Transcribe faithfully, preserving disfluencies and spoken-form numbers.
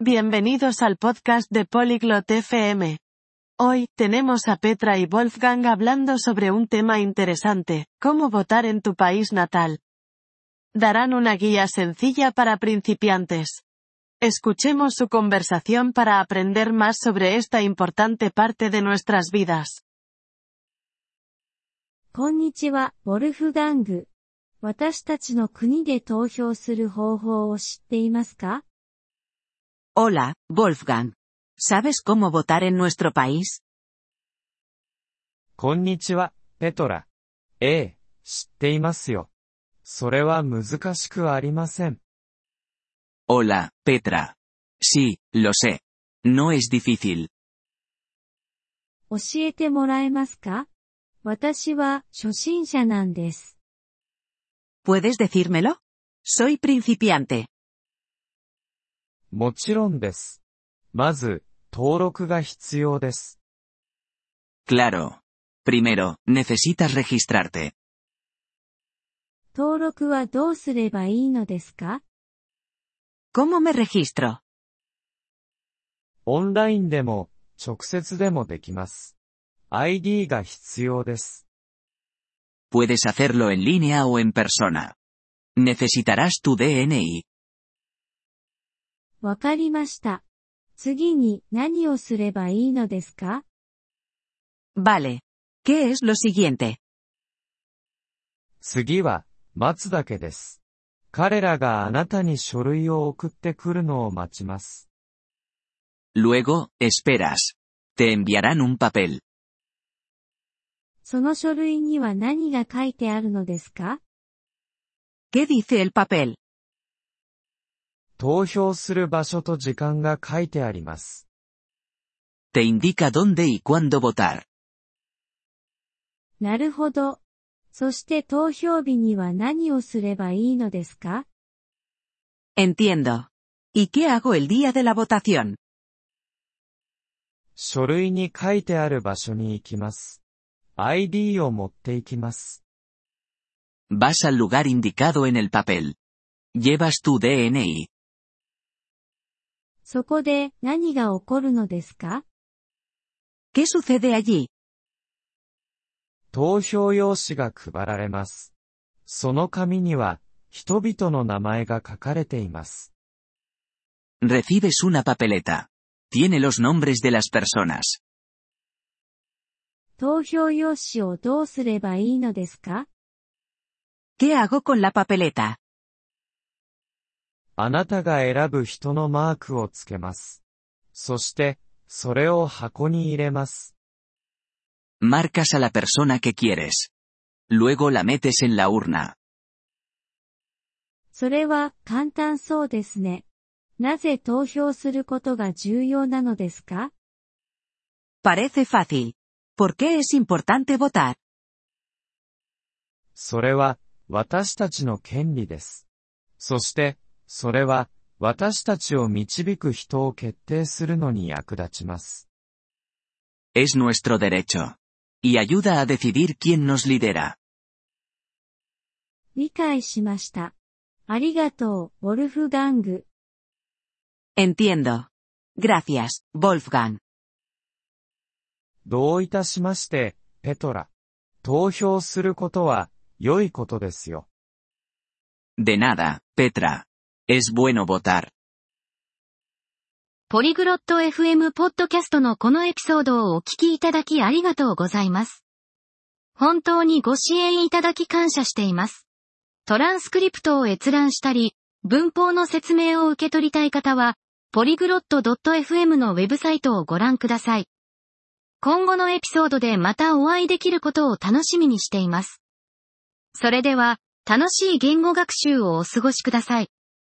Bienvenidos al podcast de Polyglot F M. Hoy, tenemos a Petra y Wolfgang hablando sobre un tema interesante, cómo votar en tu país natal. Darán una guía sencilla para principiantes. Escuchemos su conversación para aprender más sobre esta importante parte de nuestras vidas. こんにちは、ウォルフガング。私たちの国で投票する方法を知っていますか？ Hola, Wolfgang. ¿Sabes cómo votar en nuestro país? こんにちは、ペトラ。ええ、知っていますよ。それは難しくありません。 Hola, Petra. Sí, lo sé. No es difícil. 教えてもらえますか？私は初心者なんです。 ¿Puedes decírmelo? Soy principiante. もちろんです。まず、登録が必要です。 Claro. Primero, necesitas registrarte. 登録はどうすればいいのですか？ ¿Cómo me registro? オンラインでも、直接でもできます。アイディー が必要です。 Puedes hacerlo en línea o en persona. Necesitarás tu D N I. わかりました。次に何をすればいいのですか？ Vale. ¿Qué es lo siguiente? 次は、待つだけです。彼らがあなたに書類を送ってくるのを待ちます。 Luego, esperas. Te enviarán un papel. その書類には何が書いてあるのですか？ ¿Qué dice el papel? 投票する場所と時間が書いてあります。 Te indica dónde y cuándo votar. なるほど。そして投票日には何をすればいいのですか？ Entiendo. ¿Y qué hago el día de la votación? 書類に書いてある場所に行きます。アイディー を持って行きます。 Vas al lugar indicado en el papel. Llevas tu D N I. そこで何が起こるのですか？ ¿Qué sucede allí? 投票用紙が配られます。その紙には、人々の名前が書かれています。 Recibes una papeleta. Tiene los nombres de las personas. 投票用紙をどうすればいいのですか？ ¿Qué hago con la papeleta? あなたが選ぶ人のマークをつけます。そして、それを箱に入れます。 Marcas a la persona que quieres. Luego la metes en la urna. それは簡単そうですね。なぜ投票することが重要なのですか？ Parece fácil. ¿Por qué es importante votar? それは、私たちの権利です。そして、それは、私たちを導く人を決定するのに役立ちます。 Es nuestro derecho. Y ayuda a decidir quién nos lidera. 理解しました。ありがとう、ウォルフガング。 Entiendo. Gracias, Wolfgang. どういたしまして、ペトラ。投票することは、良いことですよ。 De nada, Petra. Es bueno votar. ポリグロット エフエム ポッドキャストのこのエピソードをお聞きいただきありがとうございます。本当にご支援いただき感謝しています。トランスクリプトを閲覧したり、文法の説明を受け取りたい方は、ポリグロット ドットエフエム のウェブサイトをご覧ください。今後のエピソードでまたお会いできることを楽しみにしています。それでは、楽しい言語学習をお過ごしください。